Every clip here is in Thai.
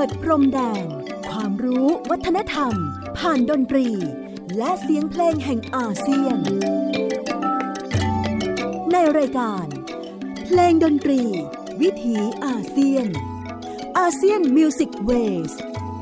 ดพรมแดนความรู้วัฒนธรรมผ่านดนตรีและเสียงเพลงแห่งอาเซียนในรายการเพลงดนตรีวิถีอาเซียนอาเซียนมิวสิกเวส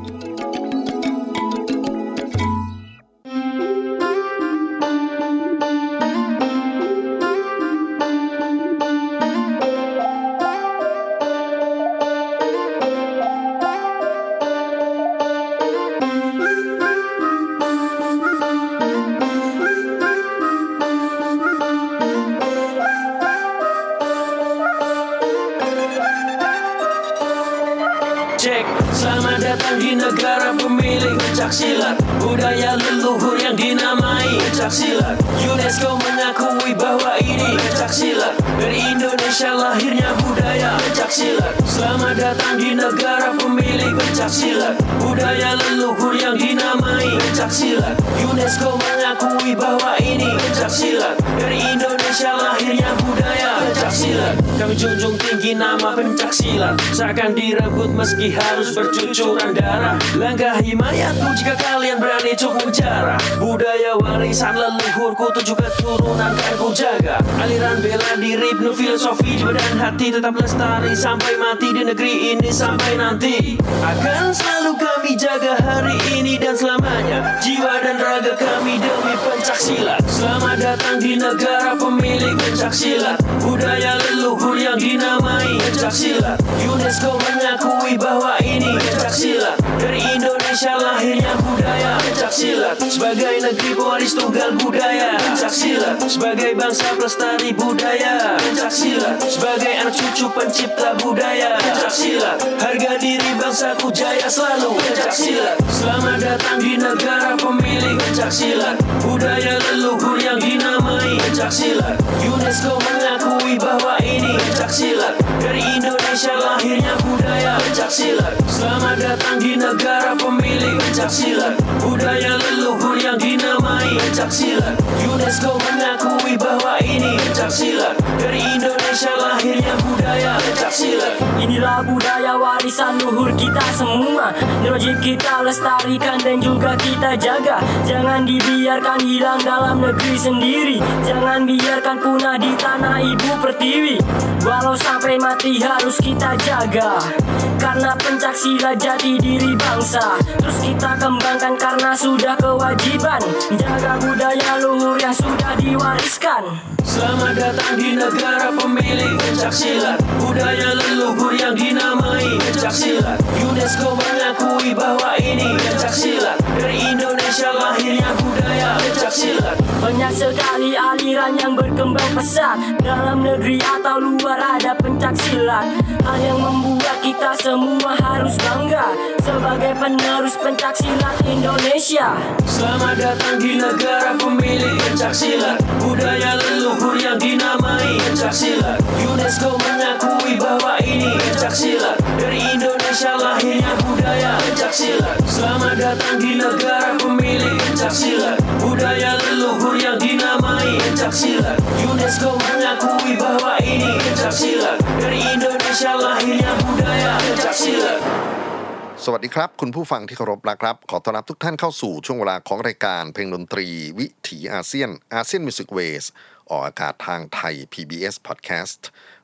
Selamat datang di negara pemilik pencaksilat budaya leluhur yang dinamai pencaksilat. UNESCO mengakui bahwa ini pencaksilat. Dari Indonesia lahirnya budaya pencaksilat. Selamat datang di negara pemilik pencaksilat budaya leluhur yang dinamai pencaksilat. UNESCO mengakui bahwa ini pencaksilat. Dari Indonesia lahirnya budaya pencaksilat. Kami junjung tinggi nama pencaksilat, seakan direbut meski harus bercucuran darah. Langkahi mayatku jika kalian berani cuk penjara. Budaya warisan leluhurku tujuh keturunan kan ku jaga. Aliran bela diri penuh filosofi jiwa dan hati tetap lestari sampai mati di negeri ini sampai nanti. Akan selalu kami jaga hari ini dan selamanya. Jiwa dan raga kami demi pencaksilat. Selamat datang di negara pemilik pencaksilat budaya leluhur yang dinamai pencaksilat. UNESCO mengakui bahwa ini pencaksilat. Dari Indonesia lahirnya budaya pencaksilat. Sebagai negeri pewaris tunggal budaya pencaksilat. Sebagai bangsa pelestari budaya pencaksilat. Sebagai anak cucu pencipta budaya pencaksilat. Harga diri bangsaku jaya selalu pencaksilat. Selamat datang di negara pemilik pencaksilat budaya leluhur yang dinamai pencaksilat. UNESCO mengakui bahwa ini pencaksilat. Dari Indonesia lahirnya budaya pencaksilat. Selamat datang di negara pemilik pencaksilat budaya leluhur yang dinamai pencaksilat. UNESCO mengakui bahwa ini pencaksilat. Dari Indonesia lahirnya budaya pencaksilat. Inilah budaya warisan luhur kita semua, wajib kita lestarikan dan juga kita jaga. Jangan dibiarkan hilang dalam negeri sendiri. Jangan biarkan punah di tanah ibu pertiwi. Walau sampai mati harus kita jaga, karena pencaksilat jati diri bangsa. Terus kita kembangkan karena sudah kewajiban. Jaga budaya luhur yang sudah diwariskan. Selamat datang di negara pemilik pencaksilat budaya leluhur yang dinamai pencaksilat. UNESCO mengakui bahwa ini pencaksilat. Dari Indonesia lahirnya budaya pencaksilat. Banyak sekali aliran yang berkembang pesat, dalam negeri atau luar ada pencaksilat. Hal yang membuat kita semua harus bangga sebagai penerus pencaksilat Indonesia. Selamat datang di negara pemilik pencaksilat budaya leluhur yang dinamai pencaksilat. UNESCO mengakui bahwa ini pencaksilat. Dari Indonesia lahirnya budaya pencaksilat. Selamat datang di negara pemilik pencaksilat budaya leluhur yang dinamai pencaksilat. UNESCO mengakui bahwa ini pencaksilat. Dari Indonesia lahirnya budaya pencaksilat. สวัสดีครับคุณผู้ฟังที่เคารพนะครับขอต้อนรับทุกท่านเข้าสู่ช่วงเวลาของรายการเพลงดนตรีวิถีอาเซียนอาเซียนมิวสิกเวสออกอากาศทางไทย PBS Podcast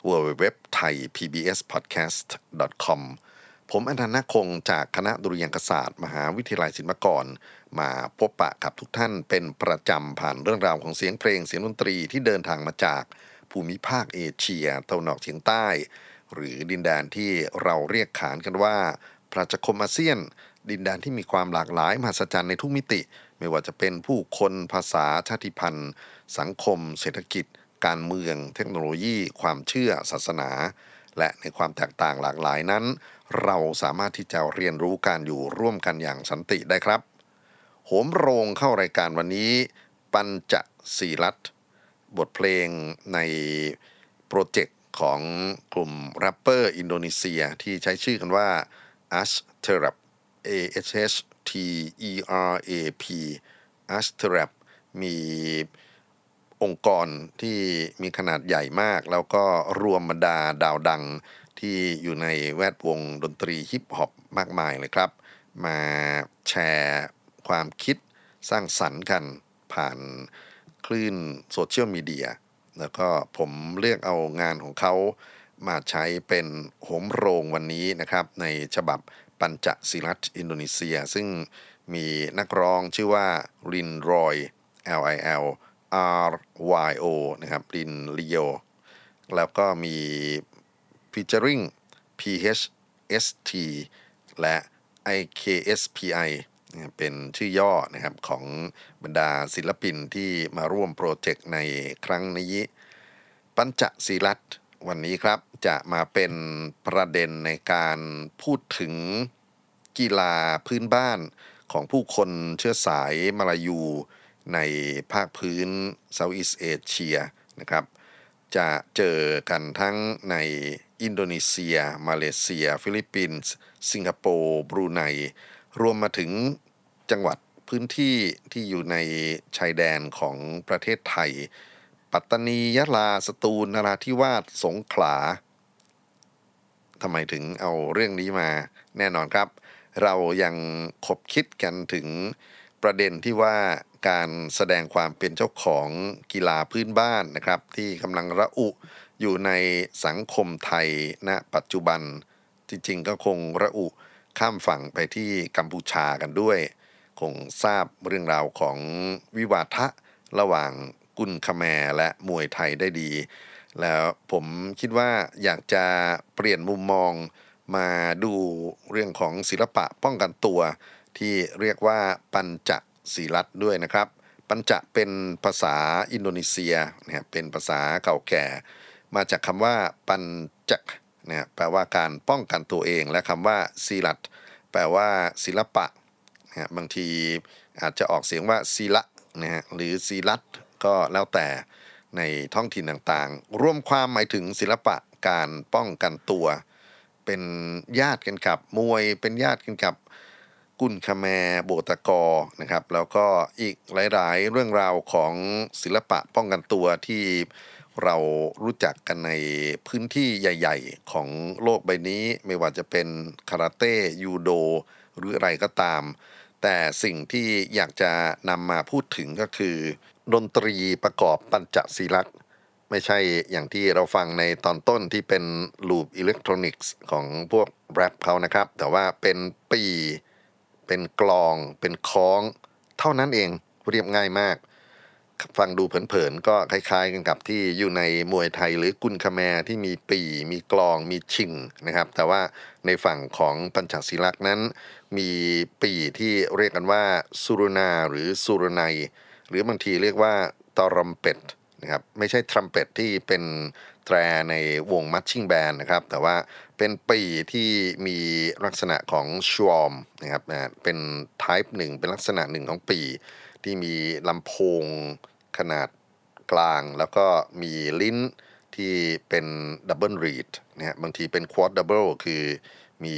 www.thaipbspodcast.com ผมอนันต์ ณ คงจากคณะดุริยางคศาสตร์มหาวิทยาลัยศิลปากรมาพบปะกับทุกท่านเป็นประจำผ่านเรื่องราวของเสียงเพลงเสียงดนตรีที่เดินทางมาจากภูมิภาคเอเชียตะวันออกเฉียงใต้หรือดินแดนที่เราเรียกขานกันว่าประชาคมอาเซียนดินแดนที่มีความหลากหลายมหัศจรรย์ในทุกมิติไม่ว่าจะเป็นผู้คนภาษาชาติพันธุ์สังคมเศรษฐกิจการเมืองเทคโนโลยีความเชื่อศาสนาและในความแตกต่างหลากหลายนั้นเราสามารถที่จะเรียนรู้การอยู่ร่วมกันอย่างสันติได้ครับโหมโรงเข้ารายการวันนี้ปัญจศีลัตน์บทเพลงในโปรเจกต์ของกลุ่มแรปเปอร์อินโดนีเซียที่ใช้ชื่อกันว่า Ashterap ASHTERAP Ashterap มีองค์กรที่มีขนาดใหญ่มากแล้วก็รวมบรรดาดาวดังที่อยู่ในแวดวงดนตรีฮิปฮอปมากมายเลยครับมาแชร์ความคิดสร้างสรรค์กันผ่านคลื่นโซเชียลมีเดียแล้วก็ผมเลือกเอางานของเขามาใช้เป็นโหมโรงวันนี้นะครับในฉบับปัญจศิรัตอินโดนีเซียซึ่งมีนักร้องชื่อว่ารินรอย LILRYO นะครับรินลิโอแล้วก็มี featuring PHST และ IKSPI เป็นชื่อย่อนะครับของบรรดาศิลปินที่มาร่วมโปรเจกต์ในครั้งนี้ปัญจศิรัตวันนี้ครับจะมาเป็นประเด็นในการพูดถึงกีฬาพื้นบ้านของผู้คนเชื้อสายมาลายูในภาคพื้นเซาท์อีสต์เอเชียนะครับจะเจอกันทั้งในอินโดนีเซียมาเลเซียฟิลิปปินส์สิงคโปร์บรูไนรวมมาถึงจังหวัดพื้นที่ที่อยู่ในชายแดนของประเทศไทยปัตตานียะลาสตูลนราธิวาสสงขลาทำไมถึงเอาเรื่องนี้มาแน่นอนครับเรายังคบคิดกันถึงประเด็นที่ว่าการแสดงความเป็นเจ้าของกีฬาพื้นบ้านนะครับที่กำลังระอุอยู่ในสังคมไทยณปัจจุบันจริงๆก็คงระอุข้ามฝั่งไปที่กัมพูชากันด้วยคงทราบเรื่องราวของวิวาทะระหว่างกุนคแมร์และมวยไทยได้ดีแล้วผมคิดว่าอยากจะเปลี่ยนมุมมองมาดูเรื่องของศิลปะป้องกันตัวที่เรียกว่าปัญจศิรัตด้วยนะครับปัญจเป็นภาษาอินโดนีเซียนะครับเป็นภาษาเก่าแก่มาจากคำว่าปัญจนะแปลว่าการป้องกันตัวเองและคำว่าศิรัตแปลว่าศิลปะนะบางทีอาจจะออกเสียงว่าศิละนะฮะหรือศิรัตก็แล้วแต่ในท้องถิ่นต่างๆรวมความหมายถึงศิลปะการป้องกันตัวเป็นญาติกันกับมวยเป็นญาติกันกับกุนคแมร์โบตกอนะครับแล้วก็อีกหลายๆเรื่องราวของศิลปะป้องกันตัวที่เรารู้จักกันในพื้นที่ใหญ่ๆของโลกใบนี้ไม่ว่าจะเป็นคาราเต้ยูโดหรืออะไรก็ตามแต่สิ่งที่อยากจะนำมาพูดถึงก็คือดนตรีประกอบปัญจศิรัตไม่ใช่อย่างที่เราฟังในตอนต้นที่เป็นลูปอิเล็กทรอนิกส์ของพวกแรปเขานะครับแต่ว่าเป็นปีเป็นกลองเป็นค้องเท่านั้นเองเรียบง่ายมากฟังดูเผินๆก็คล้ายๆกันกับที่อยู่ในมวยไทยหรือกุนคแมร์ที่มีปีมีกลองมีชิงนะครับแต่ว่าในฝั่งของปัญจศิรัตนั้นมีปีที่เรียกกันว่าสุรนาหรือสุรนัยหรือบางทีเรียกว่าตรัมเป็ตนะครับไม่ใช่ทรัมเป็ตที่เป็นแตรในวงมัชชิ่งแบนด์นะครับแต่ว่าเป็นปีที่มีลักษณะของชวอมนะครับเป็น type หนึ่งเป็นลักษณะหนึ่งของปีที่มีลำโพงขนาดกลางแล้วก็มีลิ้นที่เป็นดับเบิลรีดนะฮะบางทีเป็นควอดดับเบิลคือมี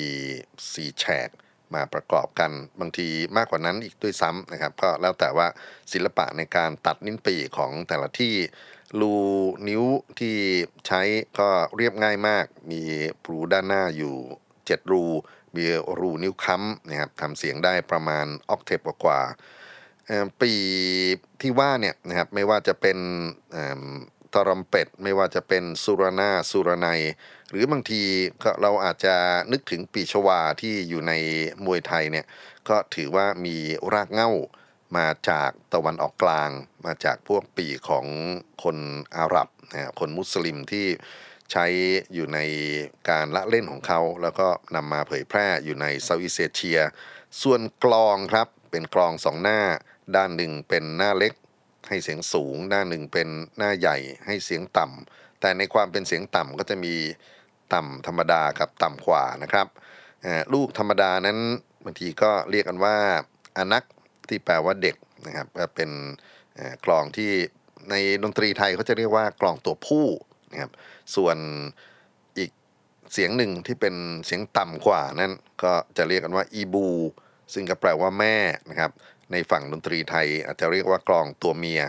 4แฉกมาประกอบกันบางทีมากกว่านั้นอีกด้วยซ้ำนะครับก็แล้วแต่ว่าศิลปะในการตัดนิ้นปี่ของแต่ละที่รูนิ้วที่ใช้ก็เรียบง่ายมากมีรูด้านหน้าอยู่7รูมีรูนิ้วค้ำนะครับทำเสียงได้ประมาณออกเทปกว่าปีที่ว่าเนี่ยนะครับไม่ว่าจะเป็นตรัมเป็ตไม่ว่าจะเป็นสุรนาสุรนัยหรือบางทีเราอาจจะนึกถึงปีชวาที่อยู่ในมวยไทยเนี่ยก็ถือว่ามีรากเหง้ามาจากตะวันออกกลางมาจากพวกปีของคนอาหรับนะคนมุสลิมที่ใช้อยู่ในการละเล่นของเขาแล้วก็นำมาเผยแพร่อยู่ในเซาท์อีสต์เอเชียส่วนกลองครับเป็นกลอง2หน้าด้านหนึ่งเป็นหน้าเล็กให้เสียงสูงด้านหนึ่งเป็นหน้าใหญ่ให้เสียงต่ำแต่ในความเป็นเสียงต่ำก็จะมีต่ำธรรมดากับต่ำกว่านะครับลูกธรรมดานั้นบางทีก็เรียกกันว่าอนักที่แปลว่าเด็กนะครับเป็นกลองที่ในดนตรีไทยเขาจะเรียกว่ากลองตัวผู้นะครับส่วนอีกเสียงหนึ่งที่เป็นเสียงต่ำกว่านั้นก็จะเรียกกันว่าอีบูซึ่งก็แปลว่าแม่นะครับในฝั่งดนตรีไทยอาจจะเรียกว่ากลองตัวเมีย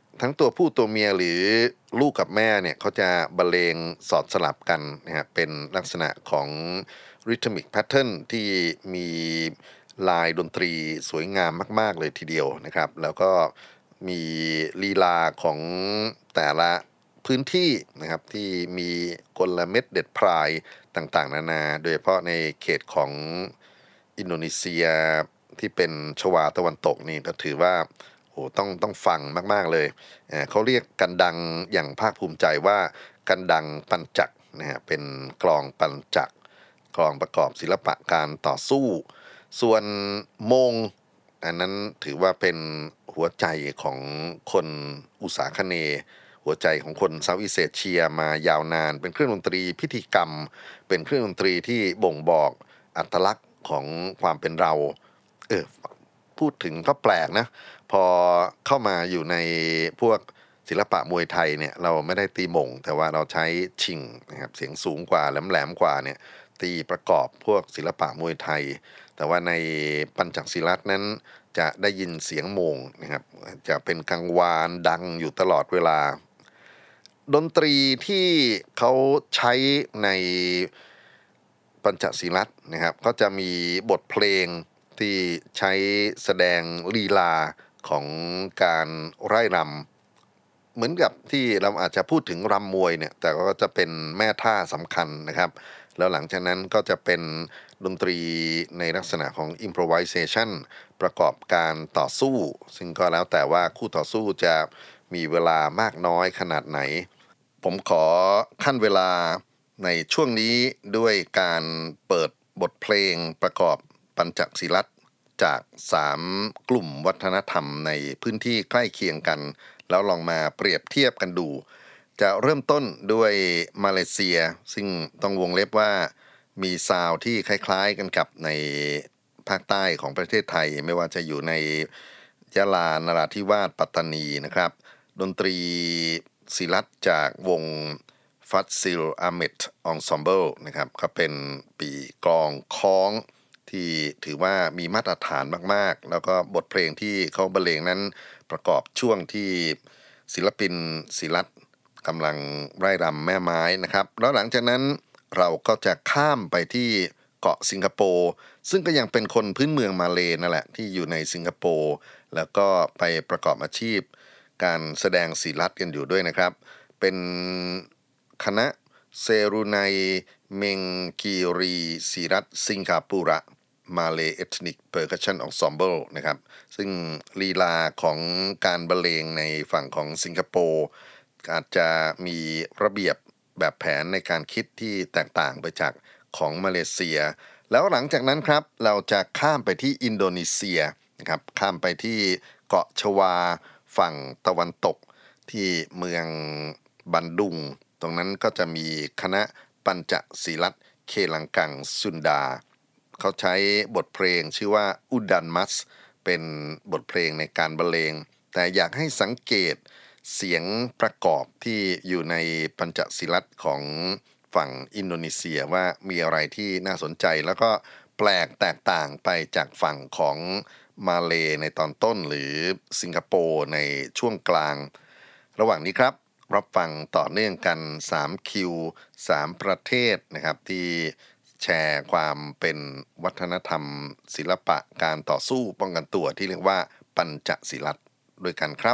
ทั้งตัวผู้ตัวเมียหรือลูกกับแม่เนี่ยเขาจะบรรเลงสอดสลับกันนะฮะเป็นลักษณะของ rhythmic pattern ที่มีลายดนตรีสวยงามมากๆเลยทีเดียวนะครับแล้วก็มีลีลาของแต่ละพื้นที่นะครับที่มีกลเม็ดเด็ดพรายต่างๆนานาโดยเฉพาะในเขตของอินโดนีเซียที่เป็นชวาตะวันตกนี่ก็ถือว่าโอ้ต้องฟังมากๆเลยเขาเรียกกันดังอย่างภาคภูมิใจว่ากันดังปัญจักนะฮะเป็นกลองปัญจักกลองประกอบศิลปะการต่อสู้ส่วนโมงอันนั้นถือว่าเป็นหัวใจของคนอุษาคเนย์หัวใจของคนเซาท์อีสต์เอเชียมายาวนานเป็นเครื่องดนตรีพิธีกรรมเป็นเครื่องดนตรีที่บ่งบอกอัตลักษณ์ของความเป็นเราพูดถึงก็แปลกนะพอเข้ามาอยู่ในพวกศิลปะมวยไทยเนี่ยเราไม่ได้ตีหม่งแต่ว่าเราใช้ชิงนะครับเสียงสูงกว่าแหลมๆกว่าเนี่ยตีประกอบพวกศิลปะมวยไทยแต่ว่าในปัญจศิลัตนั้นจะได้ยินเสียงโมงนะครับจะเป็นกังวานดังอยู่ตลอดเวลาดนตรีที่เขาใช้ในปัญจศิลัตนะครับก็จะมีบทเพลงที่ใช้แสดงลีลาของการไร่รำเหมือนกับที่เราอาจจะพูดถึงรำมวยเนี่ยแต่ก็จะเป็นแม่ท่าสำคัญนะครับแล้วหลังจากนั้นก็จะเป็นดนตรีในลักษณะของ improvisation ประกอบการต่อสู้ซึ่งก็แล้วแต่ว่าคู่ต่อสู้จะมีเวลามากน้อยขนาดไหนผมขอขั้นเวลาในช่วงนี้ด้วยการเปิดบทเพลงประกอบปัญจศิลัตจาก3กลุ่มวัฒนธรรมในพื้นที่ใกล้เคียงกันแล้วลองมาเปรียบเทียบกันดูจะเริ่มต้นด้วยมาเลเซียซึ่งต้องวงเล็บว่ามีซาวด์ที่คล้ายๆกันกับในภาคใต้ของประเทศไทยไม่ว่าจะอยู่ในยะลานราธิวาสปัตตานีนะครับดนตรีศิลัตจากวงฟัตซิลอาเมดองซอมเบิลนะครับก็เป็นปีกลองค้องที่ถือว่ามีมาตรฐานมากๆแล้วก็บทเพลงที่เขาบรรเลงนั้นประกอบช่วงที่ศิลปินศิลัตกำลังไร่รำแม่ไม้นะครับแล้วหลังจากนั้นเราก็จะข้ามไปที่เกาะสิงคโปร์ซึ่งก็ยังเป็นคนพื้นเมืองมาเลนั่นแหละที่อยู่ในสิงคโปร์แล้วก็ไปประกอบอาชีพการแสดงศิลัตกันอยู่ด้วยนะครับเป็นคณะเซรุไนเมงกีรีศิรัตสิงคโปร์มาเลเอทนิกเพอร์คัชชั่นอนซอมเบิลนะครับซึ่งลีลาของการบรรเลงในฝั่งของสิงคโปร์อาจจะมีระเบียบแบบแผนในการคิดที่แตกต่างไปจากของมาเลเซียแล้วหลังจากนั้นครับเราจะข้ามไปที่อินโดนีเซียนะครับข้ามไปที่เกาะชวาฝั่งตะวันตกที่เมืองบันดุงตรงนั้นก็จะมีคณะปัญจศิลัตเคลังกังซุนดาเขาใช้บทเพลงชื่อว่าอุดันมัสเป็นบทเพลงในการบรรเลงแต่อยากให้สังเกตเสียงประกอบที่อยู่ในปัญจศิลัตของฝั่งอินโดนีเซียว่ามีอะไรที่น่าสนใจแล้วก็แปลกแตกต่างไปจากฝั่งของมาเลในตอนต้นหรือสิงคโปร์ในช่วงกลางระหว่างนี้ครับรับฟังต่อเนื่องกัน3คิว3ประเทศนะครับที่แชร์ความเป็นวัฒนธรรมศิลปะการต่อสู้ป้องกันตัวที่เรียกว่าปัญจศิลัตด้วยกันครับ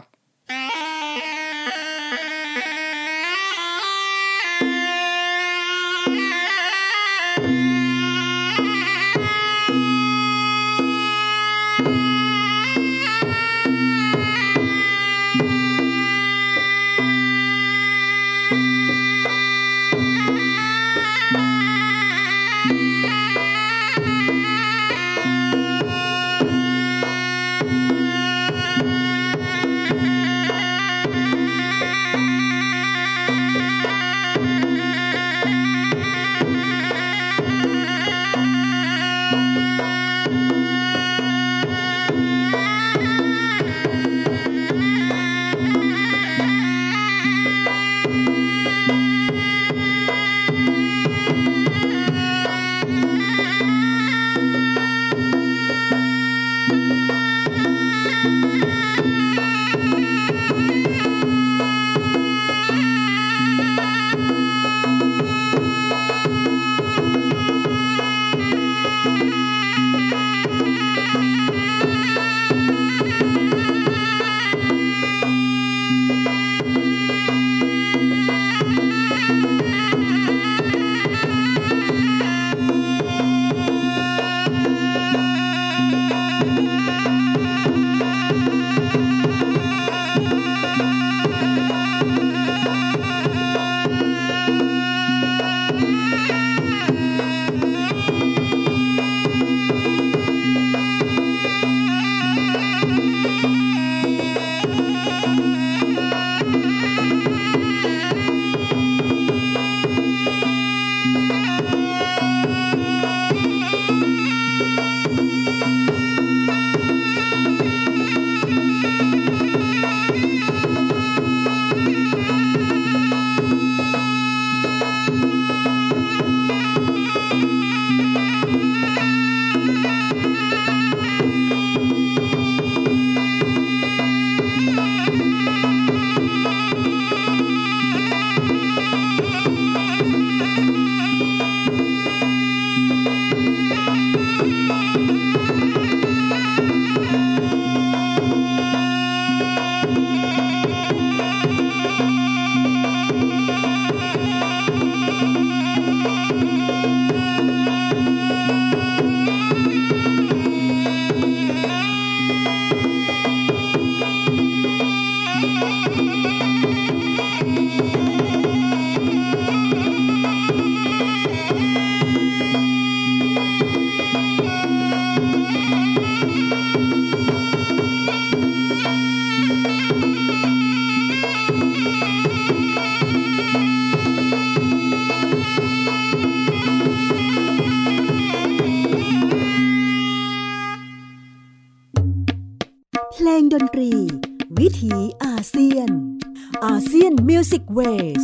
งดนตรีวิถีอาเซียนอาเซียนมิวสิกเวส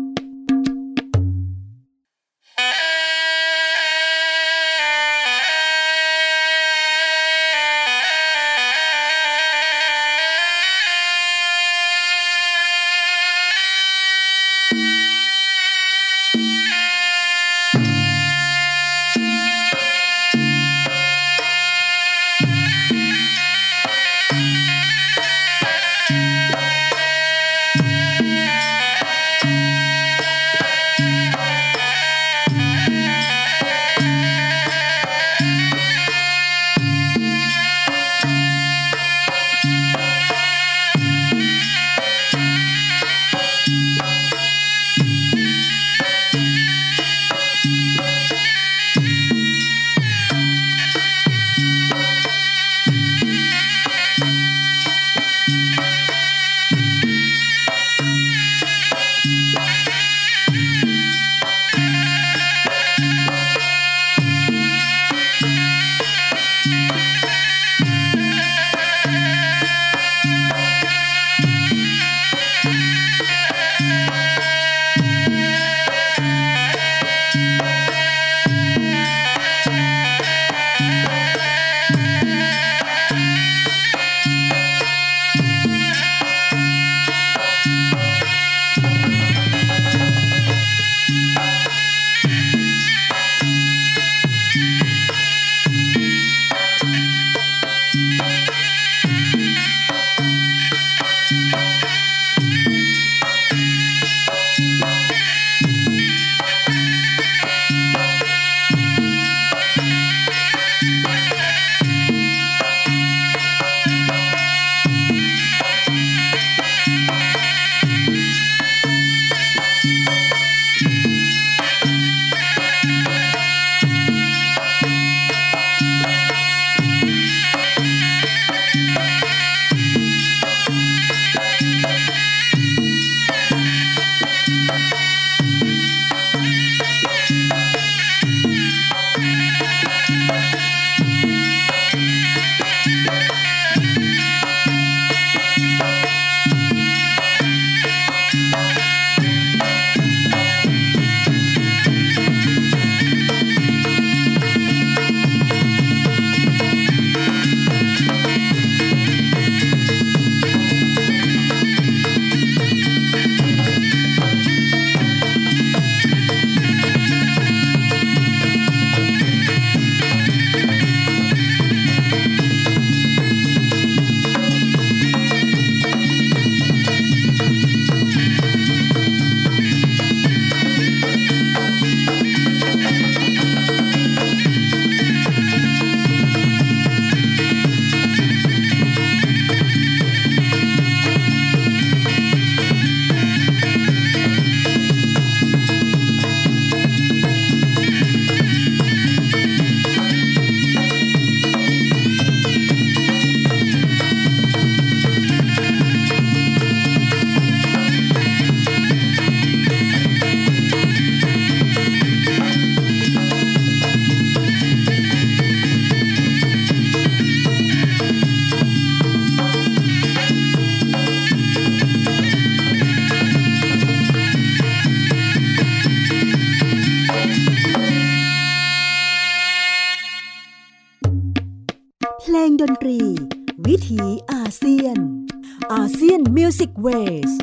เพลงดนตรีวิถีอาเซียนอาเซียนมิวสิกเวส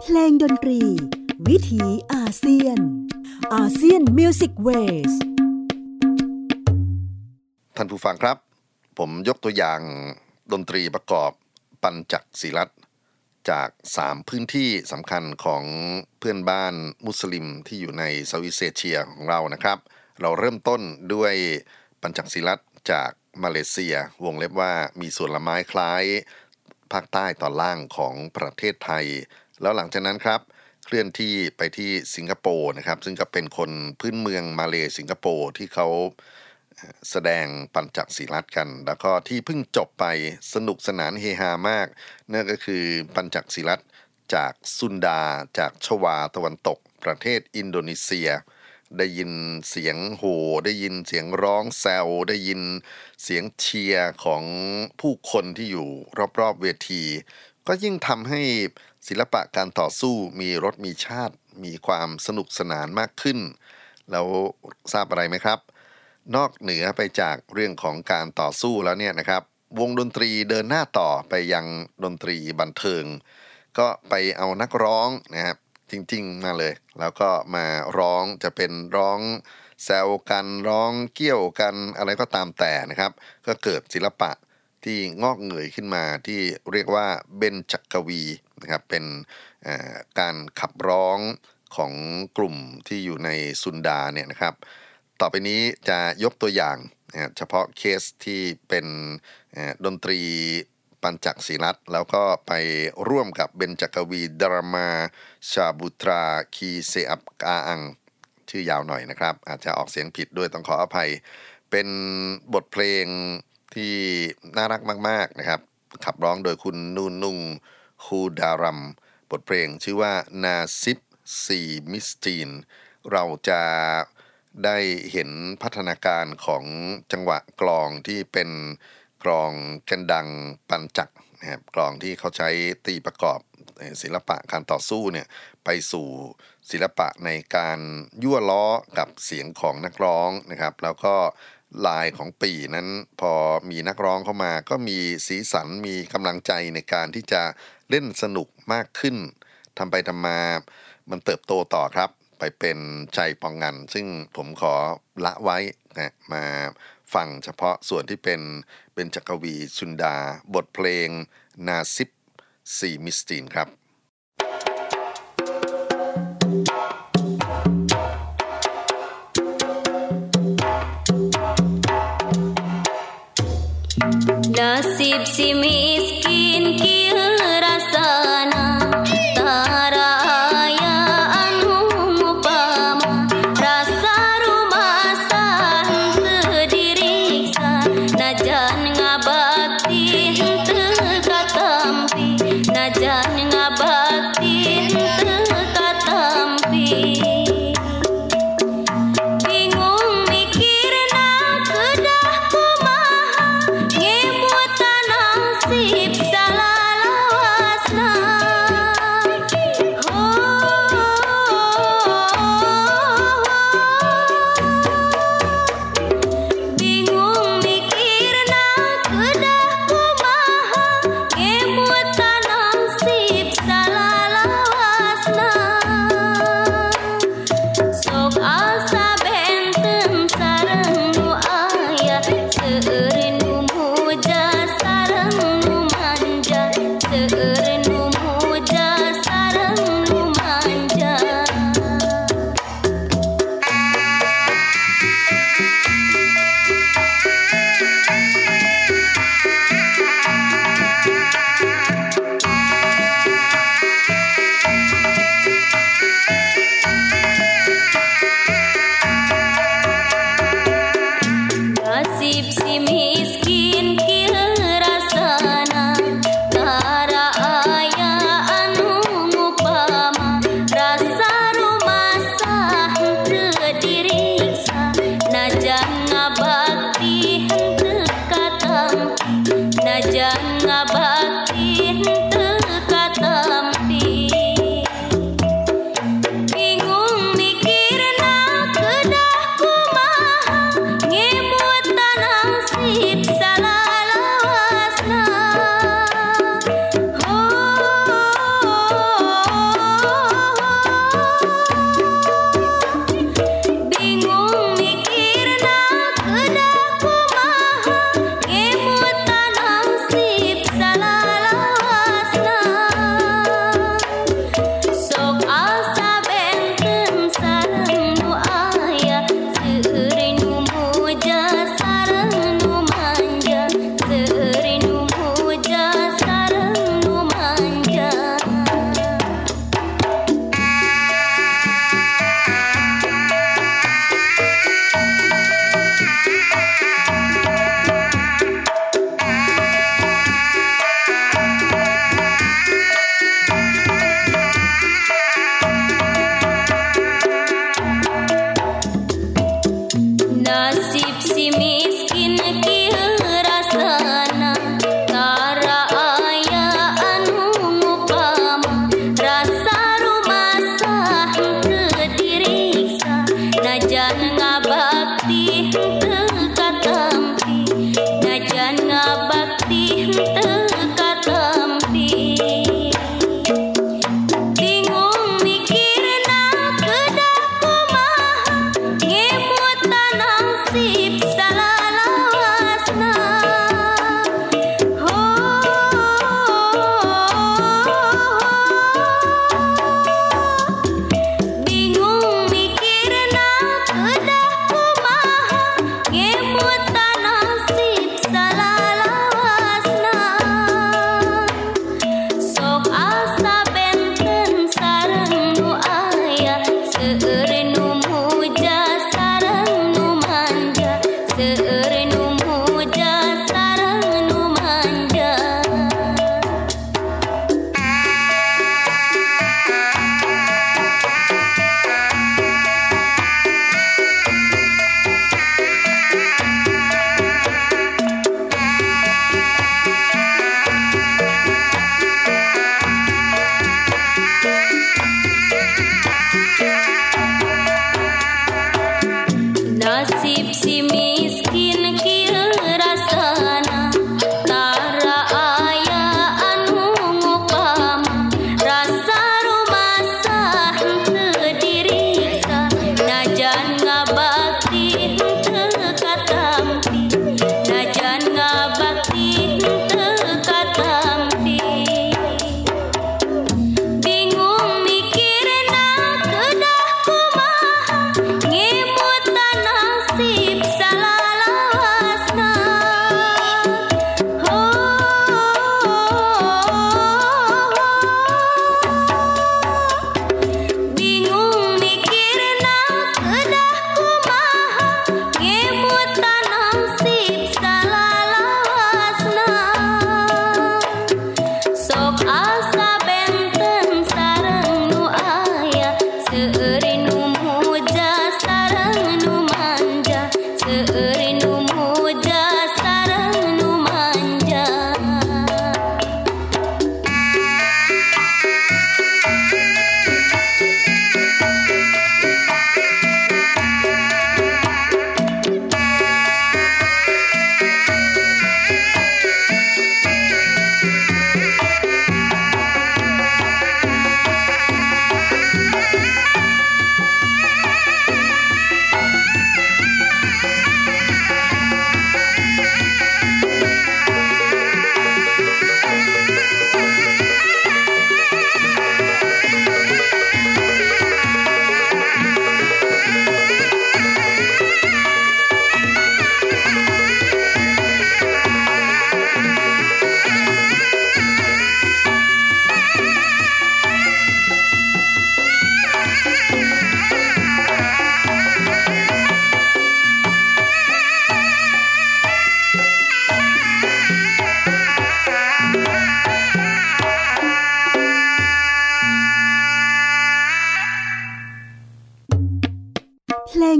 เพลงดนตรีวิถีอาเซียนอาเซียนมิวสิกเวสท่านผู้ฟังครับผมยกตัวอย่างดนตรีประกอบปัญจศีลัตน์จาก3พื้นที่สำคัญของเพื่อนบ้านมุสลิมที่อยู่ในเซาท์อีสต์เอเชียของเรานะครับเราเริ่มต้นด้วยปัญจศีลัตน์จากมาเลเซียวงเล็บว่ามีส่วนละไม้คล้ายภาคใต้ตอนล่างของประเทศไทยแล้วหลังจากนั้นครับเคลื่อนที่ไปที่สิงคโปร์นะครับซึ่งก็เป็นคนพื้นเมืองมาเลสิงคโปร์ที่เขาแสดงปัญจศีลัตน์กันแล้วก็ที่เพิ่งจบไปสนุกสนานเฮฮามากนั่นก็คือปัญจศีลัตน์จากซุนดาจากชวาตะวันตกประเทศอินโดนีเซียได้ยินเสียงโห่ได้ยินเสียงร้องแซวได้ยินเสียงเชียร์ของผู้คนที่อยู่รอบๆเวทีก็ยิ่งทำให้ศิลปะการต่อสู้มีรสมีชาติมีความสนุกสนานมากขึ้นแล้วทราบอะไรไหมครับนอกเหนือไปจากเรื่องของการต่อสู้แล้วเนี่ยนะครับวงดนตรีเดินหน้าต่อไปยังดนตรีบันเทิงก็ไปเอานักร้องนะครับจริงๆมาเลยแล้วก็มาร้องจะเป็นร้องแซวกันร้องเกี่ยวกันอะไรก็ตามแต่นะครับก็เกิดศิลปะที่งอกเงยขึ้นมาที่เรียกว่าเบญจกวีนะครับเป็นการขับร้องของกลุ่มที่อยู่ในซุนดาเนี่ยนะครับต่อไปนี้จะยกตัวอย่างเฉพาะเคสที่เป็นดนตรีปัญจศีลัตน์แล้วก็ไปร่วมกับเบญจกวีดรามาชาบุตราคีเซอับกาอังชื่อยาวหน่อยนะครับอาจจะออกเสียงผิดด้วยต้องขออภัยเป็นบทเพลงที่น่ารักมากๆนะครับขับร้องโดยคุณนูนุงคูดารัมบทเพลงชื่อว่านาซิบซีมิสตีนเราจะได้เห็นพัฒนาการของจังหวะกลองที่เป็นกลองกันดังปัญจักนะครับกลองที่เขาใช้ตีประกอบศิลปะการต่อสู้เนี่ยไปสู่ศิลปะในการยั่วล้อกับเสียงของนักร้องนะครับแล้วก็ลายของปี่นั้นพอมีนักร้องเข้ามาก็มีสีสันมีกำลังใจในการที่จะเล่นสนุกมากขึ้นทำไปทำมามันเติบโตต่อครับไปเป็นใจปองงันซึ่งผมขอละไว้นะมาฟังเฉพาะส่วนที่เป็นเบญจกวีซุนดาบทเพลงนาซิบซีมิสตีนครับ Nasib si miskin kieu rasana tarayaan upama rasa rumasan teu diriksa najan ngabakti teu katampi najan ngabakti teu katampi Sip salah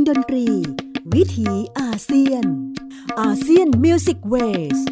ดนตรีวิถีอาเซียนอาเซียนมิวสิกเวส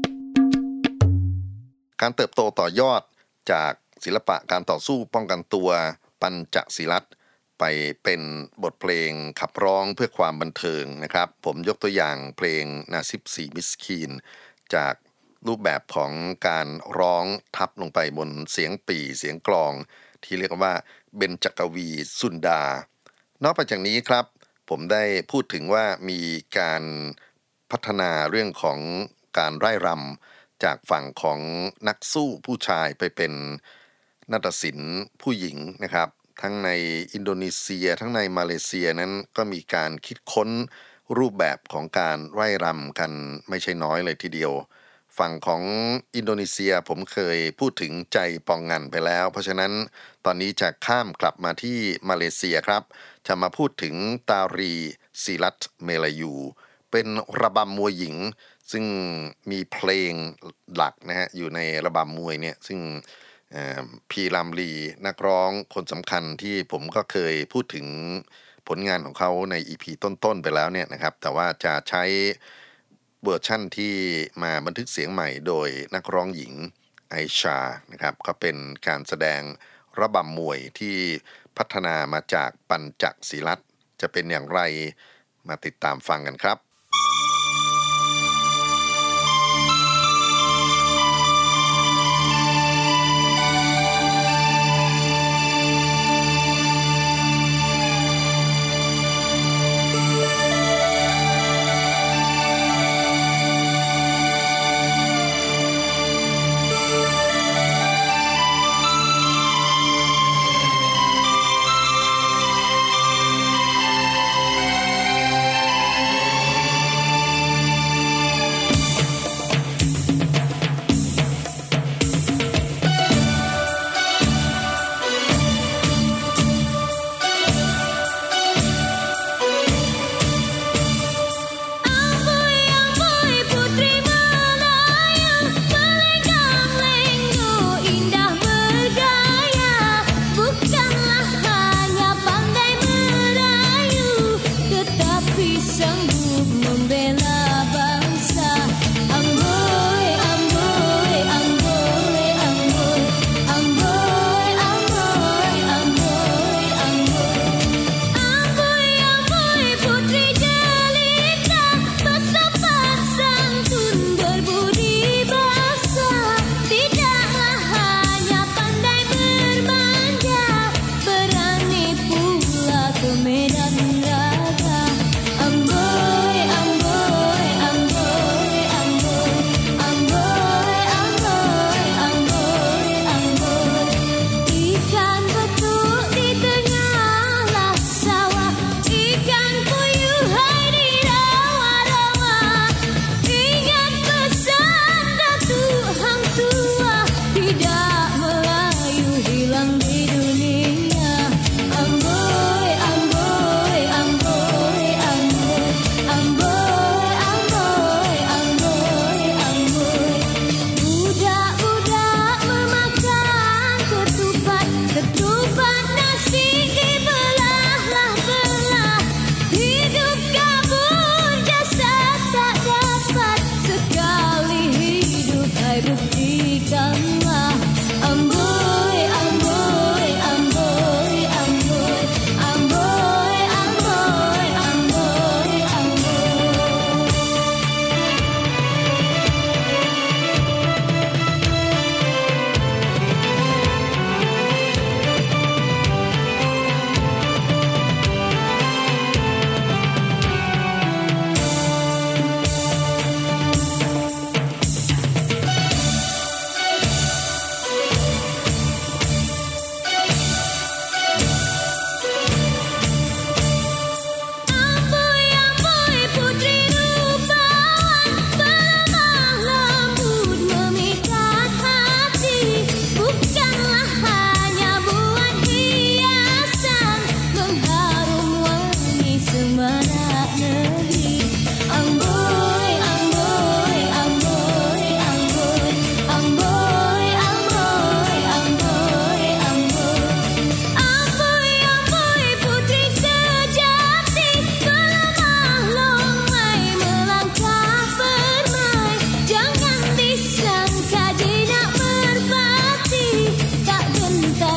การเติบโตต่อยอดจากศิลปะการต่อสู้ป้องกันตัวปัญจศิลัตไปเป็นบทเพลงขับร้องเพื่อความบันเทิงนะครับผมยกตัวอย่างเพลงนาซิบสีมิสคีนจากรูปแบบของการร้องทับลงไปบนเสียงปี่เสียงกลองที่เรียกว่าเบญจกวีสุนดานอกจากนี้ครับผมได้พูดถึงว่ามีการพัฒนาเรื่องของการไร่รำจากฝั่งของนักสู้ผู้ชายไปเป็นนาฏศิลป์ผู้หญิงนะครับทั้งในอินโดนีเซียทั้งในมาเลเซียนั้นก็มีการคิดค้นรูปแบบของการไร่รำกันไม่ใช่น้อยเลยทีเดียวฝั่งของอินโดนีเซียผมเคยพูดถึงใจปองงันไปแล้วเพราะฉะนั้นตอนนี้จะข้ามกลับมาที่มาเลเซียครับจะมาพูดถึงตารีศิลัตเมลายูเป็นระบำมวยหญิงซึ่งมีเพลงหลักนะฮะอยู่ในระบำมวยเนี่ยซึ่งพีรามลีนักร้องคนสำคัญที่ผมก็เคยพูดถึงผลงานของเขาใน EP ต้นๆไปแล้วเนี่ยนะครับแต่ว่าจะใช้เวอร์ชั่นที่มาบันทึกเสียงใหม่โดยนักร้องหญิงไอชานะครับก็เป็นการแสดงระบำมวยที่พัฒนามาจากปัญจศิลัตจะเป็นอย่างไรมาติดตามฟังกันครับ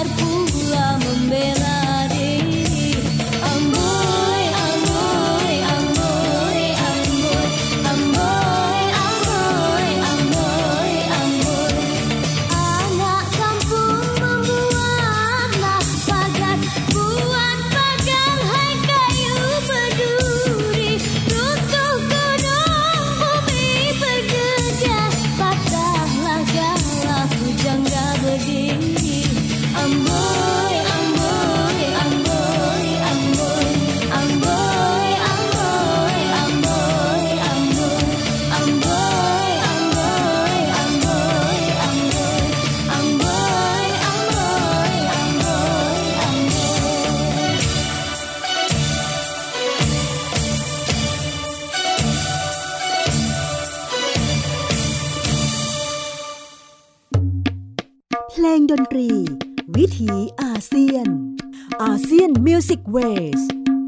sadar pula membela diri. Amboi, amboi, amboi, amboi, amboi, amboi, amboi, amboi. Anak kampung membuatlah pagar, buat pagar hai kayu berduri. Runtuh gunung bumi bergetar, patahlah galah pujangga berdiri. Amboi, amboi, amboi, amboi, amboi, amboi, amboi, amboi, amboi, amboi, amboi, amboi, amboi. เพลงดนตรีวิถีอาเซียนอาเซียนมิวสิกเวส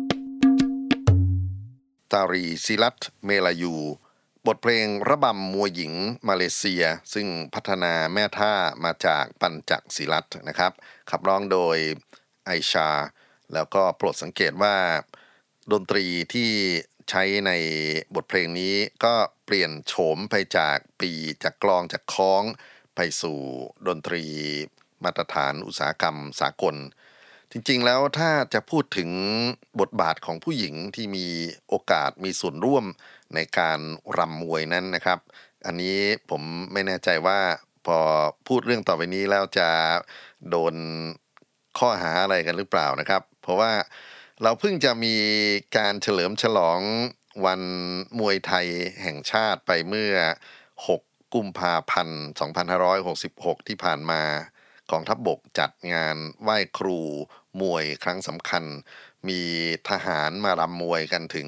ตารีศิลัตเมลายูบทเพลงระบำมวยหญิงมาเลเซียซึ่งพัฒนาแม่ท่ามาจากปัญจศิลัตนะครับขับร้องโดยไอชาแล้วก็โปรดสังเกตว่าดนตรีที่ใช้ในบทเพลงนี้ก็เปลี่ยนโฉมไปจากปีจากกลองจากค้องไปสู่ดนตรีมาตรฐานอุตสาหกรรมสากลจริงๆแล้วถ้าจะพูดถึงบทบาทของผู้หญิงที่มีโอกาสมีส่วนร่วมในการรำมวยนั้นนะครับอันนี้ผมไม่แน่ใจว่าพอพูดเรื่องต่อไปนี้แล้วจะโดนข้อหาอะไรกันหรือเปล่านะครับเพราะว่าเราเพิ่งจะมีการเฉลิมฉลองวันมวยไทยแห่งชาติไปเมื่อ6 กุมภาพันธ์ 2566 ที่ผ่านมากองทัพบกจัดงานไหว้ครูมวยครั้งสำคัญมีทหารมารำมวยกันถึง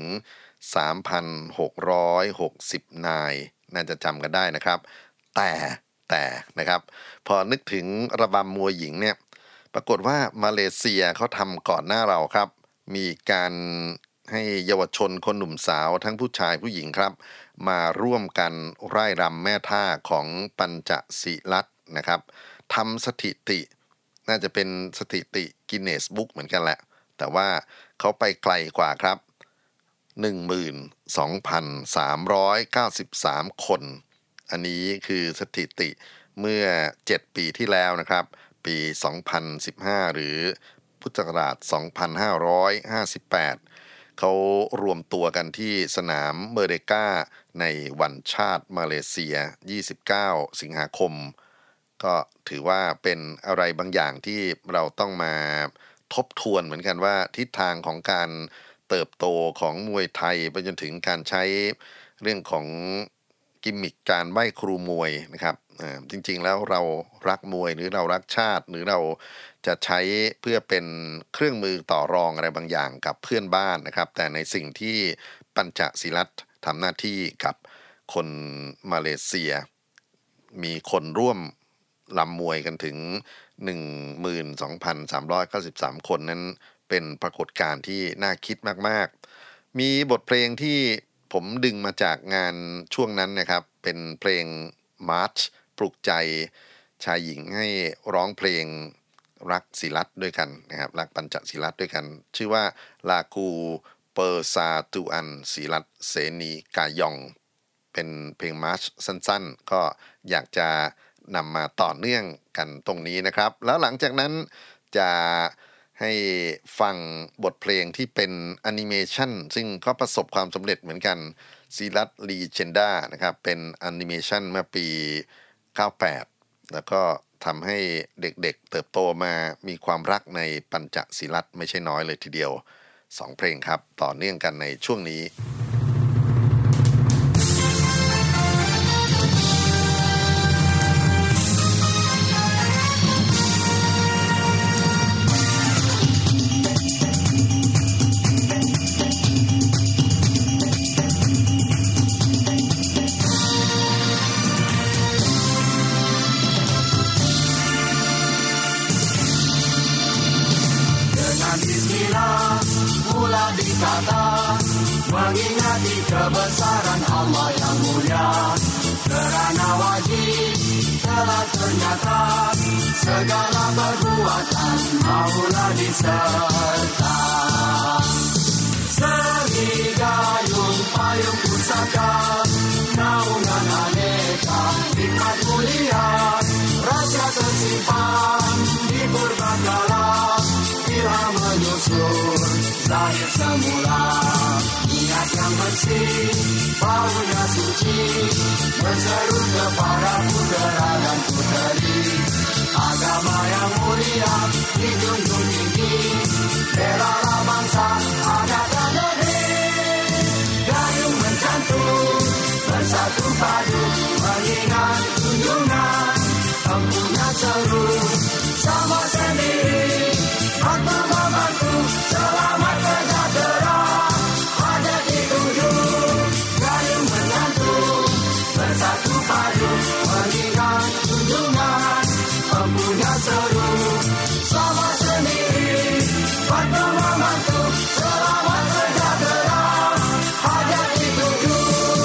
3,660 นายน่าจะจำกันได้นะครับแต่นะครับพอนึกถึงระบำมวยหญิงเนี่ยปรากฏว่ามาเลเซียเขาทำก่อนหน้าเราครับมีการให้เยาวชนคนหนุ่มสาวทั้งผู้ชายผู้หญิงครับมาร่วมกันร่ายรำแม่ท่าของปัญจศิลัตนะครับทำสถิติน่าจะเป็นสถิติกินเนสบุ๊กเหมือนกันแหละแต่ว่าเขาไปไกลกว่าครับ 12,393 คนอันนี้คือสถิติเมื่อ7 ปีที่แล้วนะครับปี 2015 หรือพุทธศักราช 2558 เขารวมตัวกันที่สนามเมอร์เดกาในวันชาติมาเลเซีย 29 สิงหาคมก็ถือว่าเป็นอะไรบางอย่างที่เราต้องมาทบทวนเหมือนกันว่าทิศทางของการเติบโตของมวยไทยไปจนถึงการใช้เรื่องของกิมมิคการไหว้ครูมวยนะครับจริงๆแล้วเรารักมวยหรือเรารักชาติหรือเราจะใช้เพื่อเป็นเครื่องมือต่อรองอะไรบางอย่างกับเพื่อนบ้านนะครับแต่ในสิ่งที่ปัญจศิลัตทำหน้าที่กับคนมาเลเซียมีคนร่วมลำมวยกันถึง 12,393 คนนั้นเป็นปรากฏการณ์ที่น่าคิดมากๆมีบทเพลงที่ผมดึงมาจากงานช่วงนั้นนะครับเป็นเพลงมาร์ชปลุกใจชายหญิงให้ร้องเพลงรักศิลัตด้วยกันนะครับรักปัญจศิลัตด้วยกันชื่อว่าลากูเปอร์ซาตูอันศิลัตเสนีกายองเป็นเพลงมาร์ชสั้นๆก็อยากจะนำมาต่อเนื่องกันตรงนี้นะครับแล้วหลังจากนั้นจะให้ฟังบทเพลงที่เป็นแอนิเมชันซึ่งก็ประสบความสำเร็จเหมือนกันศิลัตลีเจนดานะครับเป็นแอนิเมชันเมื่อปี 98 แล้วก็ทำให้เด็กๆเติบโตมามีความรักในปัญจศิลัตไม่ใช่น้อยเลยทีเดียว2 เพลงครับต่อเนื่องกันในช่วงนี้ Mengingati kebesaran Allah yang mulia, kerana wajib telah ternyata, segala perbuatan maulah diserta. Seni gayung payung pusaka, naungan aneka hikmat mulia, rahasia tersimpan di purbakala, ilham menyusun zahir semula. Niat yang bersih, baunya suci, berseru kepada putera dan puteri. Agama yang mulia dijunjung tinggi, belalah bangsa, adat dan negeri. Gayung mencantum, bersatu padu, mengingat junjungan, empunya seru, sama sendiri, bantu membantu, selamat sejahtera, hajat dituju. Gayung mencantum, bersatu padu, mengingat junjungan, empunya seru, sama sendiri, bantu membantu, selamat sejahtera, hajat dituju.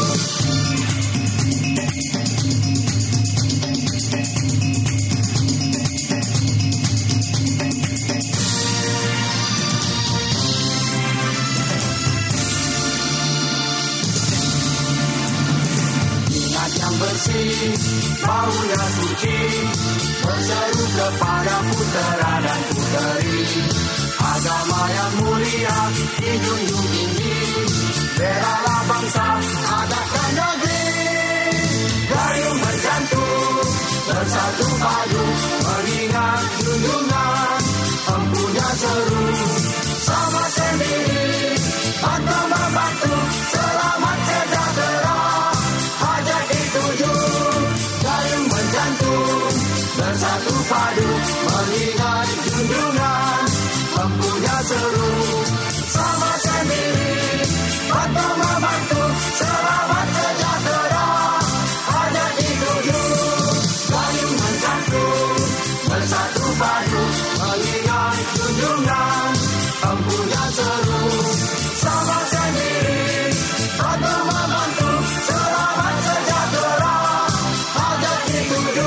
Niat yang bersih, baunya suci, berseru kepada putera dan puteri. Agama yang mulia dijunjung tinggi, belalah bangsa, adat dan negeri. Gayung berjantung, bersatu padu, mengingat junjungan, empunya seru, sama sendiri, bantu membantu, selamat sejahtera, hajat dituju. Gayung berjantung, bersatu padu, mengingat junjungan, empunya seru, sama sendiri, bantu membantu, selamat sejahtera, hajat dituju. Gayung mencantum, bersatu padu, mengingat junjungan, empunya seru, sama sendiri, bantu membantu, selamat sejahtera, hajat dituju.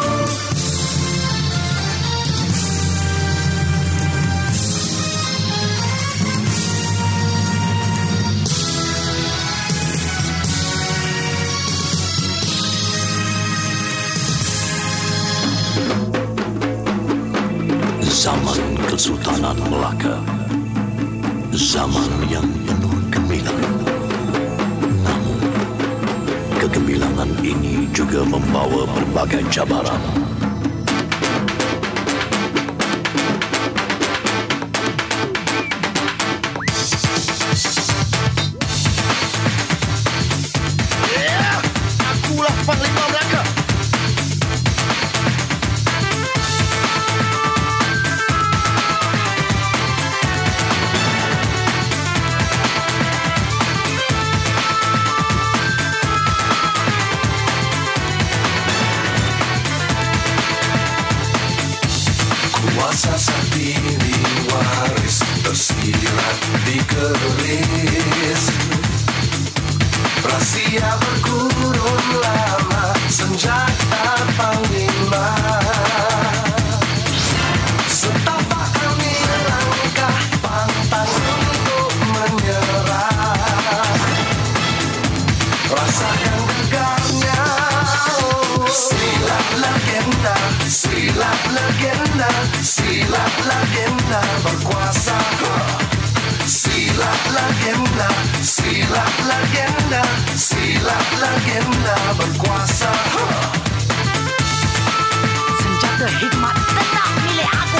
Zaman Kesultanan Melaka, zaman yang penuh gemilang. Namun, kegemilangan ini juga membawa berbagai cabaran. Akulah Panglima Melaka. Kuasa sakti waris tersirat di keris, rahasia berkurun lama, senjata panglima. Setapak kami langkah pantang untuk menyerah, rasakan gegarnya. Silat legenda, silat legenda, silat legenda berkuasa. Silat legenda, silat legenda, silat legenda berkuasa. Senjata hikmat tetap milik aku.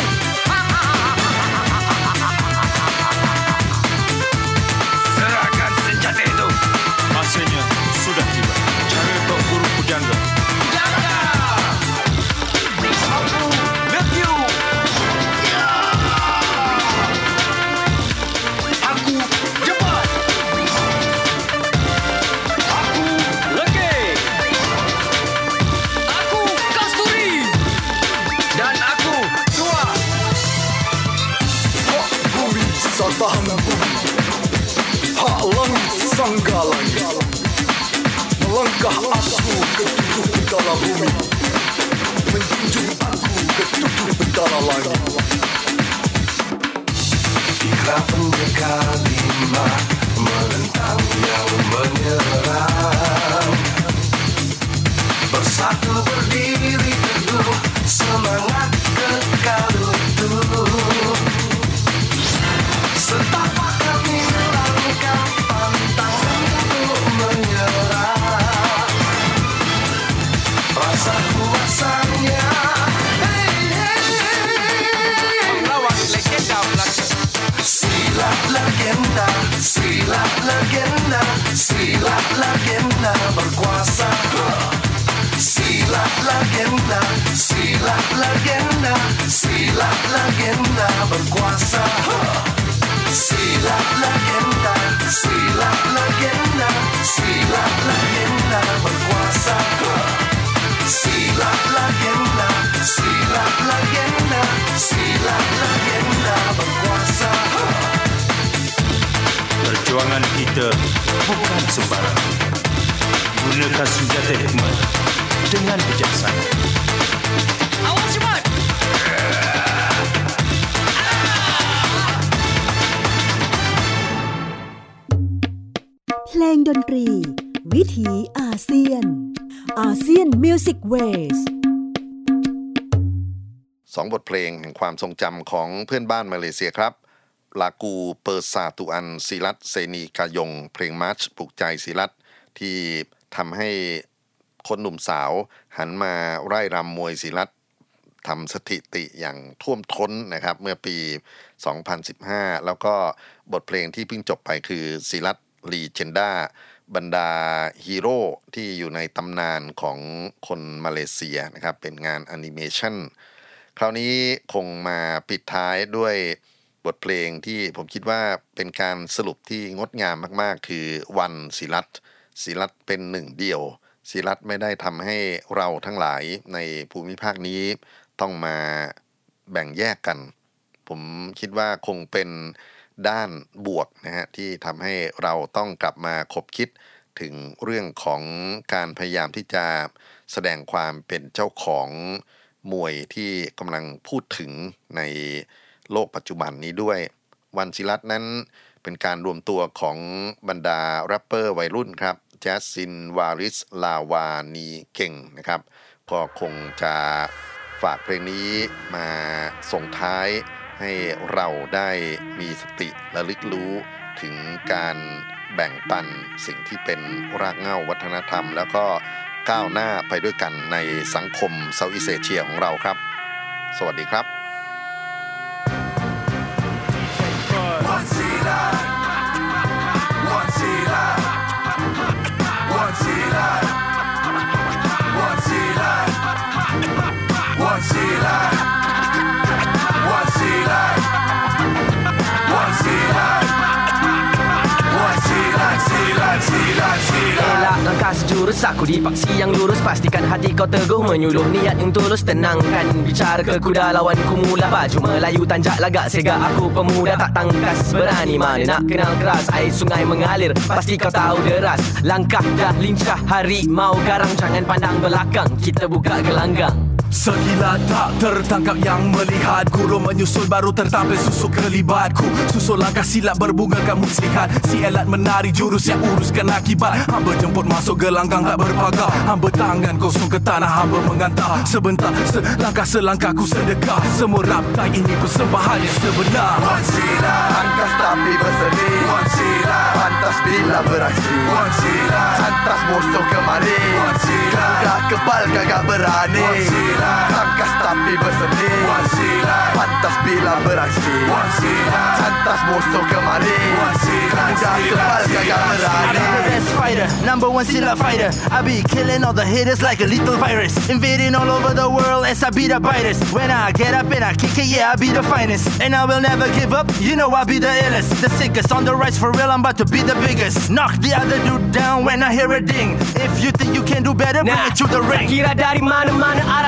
Serahkan senjata itu. Masanya sudah tiba. Cari Tok Guru Pujangga. Pujangga! Aku with you. Aku cepat. Aku Leke. Aku Kasturi. Dan aku Tua. Hak bumi satahan bumi, hak langit sangga langit. Melangkah aku ke tujuh utara bumi, tutup betala langit. Ikrar pendekar lima menentang yang menyerang. Bersatu berdiri teguh, semangat kekal utuh. Setapak kami melangkah, pantang untuk menyerah. Rasa kuasanya, Melawan legenda Melaka. silat legenda, silat legenda, silat legenda berkuasa. Silat legenda, silat legenda, silat legenda berkuasa. Silat legenda, silat legenda, silat legenda berkuasa. Silat legenda, silat legenda, silat legenda berkuasa. Perjuangan kita bukan sembarang. Gunakan senjata hikmat dengan bijaksana. Awas cepat! เพลงดนตรี วิถีอาเซียน อาเซียนมิวสิกเวส 2 บทเพลงแห่งความทรงจำของเพื่อนบ้านมาเลเซียครับ ลากูเปอร์ซาตุอันศิรัตเซนีกายงเพลงมาร์ชปลุกใจศิรัตที่ทำให้คนหนุ่มสาวหันมาไร่รำมวยศิรัตทำสถิติอย่างท่วมท้นนะครับเมื่อปี 2015 แล้วก็บทเพลงที่เพิ่งจบไปคือศิรัตลีเจนดาบรรดาฮีโร่ที่อยู่ในตำนานของคนมาเลเซียนะครับเป็นงานแอนิเมชันคราวนี้คงมาปิดท้ายด้วยบทเพลงที่ผมคิดว่าเป็นการสรุปที่งดงามมากๆคือวันศิรัตศิรัตเป็นหนึ่งเดียวศิรัตไม่ได้ทำให้เราทั้งหลายในภูมิภาคนี้ต้องมาแบ่งแยกกันผมคิดว่าคงเป็นด้านบวกนะฮะที่ทำให้เราต้องกลับมาคบคิดถึงเรื่องของการพยายามที่จะแสดงความเป็นเจ้าของมวยที่กำลังพูดถึงในโลกปัจจุบันนี้ด้วยวันศิรัตนั้นเป็นการรวมตัวของบรรดาแรปเปอร์วัยรุ่นครับแจสซินวาริสลาวานีเก่งนะครับก็คงจะฝากเพลงนี้มาส่งท้ายให้เราได้มีสติระลึกรู้ถึงการแบ่งปันสิ่งที่เป็นรากเหง้าวัฒนธรรมแล้วก็ก้าวหน้าไปด้วยกันในสังคมเซาท์อีสต์เอเชียของเราครับสวัสดีครับ Elak langkah sejurus aku dipaksi yang lurus. Pastikan hati kau teguh menyuluh niat yang tulus. Tenangkan bicara ke kuda lawanku mula. Baju Melayu tanjak lagak sega aku pemuda tak tangkas. Berani mana nak kenal keras. Air sungai mengalir pasti kau tahu deras. Langkah dah lincah harimau garang. Jangan pandang belakang kita buka gelanggang. Sekilat tak tertangkap yang melihat. Guru menyusul baru tertampil susuk kelibatku. Susul langkah silap berbungakan muslihat. Si elat menari jurus yang uruskan akibat. Hamba jemput masuk gelanggang tak berpagar. Hamba tangan kosong ke tanah hamba mengantar. Sebentar selangkah ku sedekah. Semua raptai ini persembahan yang sebenar. Wan sila angkas tapi berseni. Wan sila pantas bila beraksi. Wan sila santas musuh kemari. Wan sila dah kebal kagak berani. Wan sila tangkas tapi berseni. Wan sila pantas bila beraksi. Wan sila santas musuh kemari. Wan sila dah kebal kagak berani. I'm the best fighter, number one silat fighter. I be killing all the haters like a lethal virus. Invading all over the world as I be the biters. When I get up and I kick it, yeah, I be the finest. And I will never give up, you know I be the illest. The sickest, on the rise for real, I'm about to be the biggest. Knock the other dude down when I hear a ding. If you think you can do better, bring it to the ring. Kira dari mana-mana arah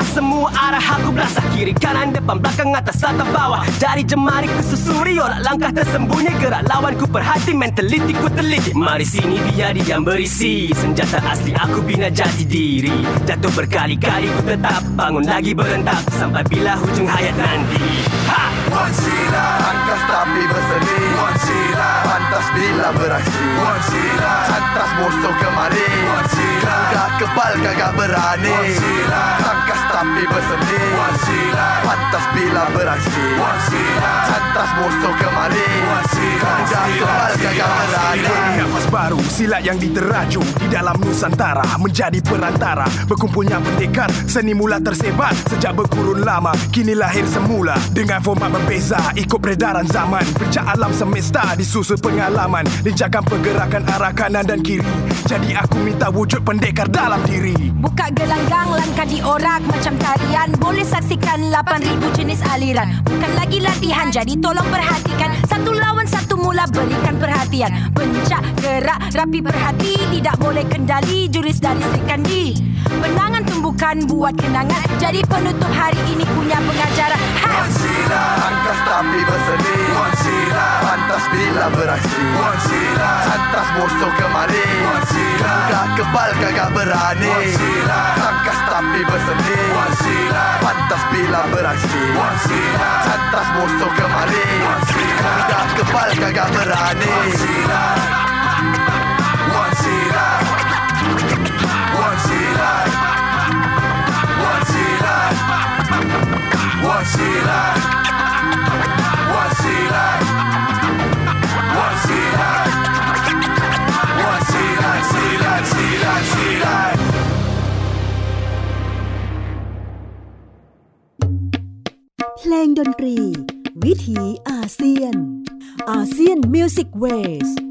semua arah aku belasah. Kiri kanan depan belakang atas atau bawah. Dari jemari ku susuri olah langkah tersembunyi. Gerak lawan ku perhati mentaliti ku teliti. Mari sini biar diam berisi. Senjata asli aku bina jati diri. Jatuh berkali-kali ku tetap bangun lagi berentap sampai bila hujung hayat nanti. Ha! Wan sila Angkas tapi berseni Wan sila Pantas bila beraksi Wan sila Cantas musuh kemari Wan sila Udah kebal kagak berani Wan sila Angkas tapi berseni Wan sila Pantas bila beraksi Wan sila Cantas musuh kemari Wan sila Udah kebal kagak berani. Nafas baru silat yang diteraju di dalam Nusantara menjadi perantara berkumpulnya pendekar seni mula tersebar sejak berkurun lama kini lahir semula dengan format berbeza ikut peredaran zaman pencak alam semesta disusul pengalaman linjakan pergerakan arah kanan dan kiri jadi aku minta wujud pendekar dalam diri. Buka gelanggang langkah diorak macam tarian boleh saksikan 8,000 jenis aliran bukan lagi latihan jadi tolong perhatikan satu lawan satu mula berikan perhatian pencak gerak rapi berhati tidak boleh kendali jurus dari Sri Kandi penangan tumbukan buat kenangan jadi penutup hari ini punya pengajaran. Wan sila Angkas tapi berseni Wan sila Pantas bila beraksi Wan sila Cantas musuh kemari Wan sila Udah kebal kagak berani Wan sila Angkas tapi berseni Wan sila Pantas bila beraksi Wan sila Cantas musuh kemari Wan sila Udah kebal kagak berani Wan sila Wan sila Wan sila Wan sila Wan sila Wan sila Wan sila Wan sila Silat silat silat. เพลงดนตรีวิถีอาเซียนอาเซียนมิวสิกเวส